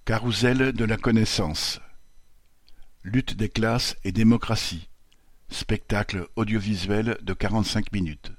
Carrousel de la connaissance. Lutte des classes et démocratie. Spectacle audiovisuel de 45 minutes.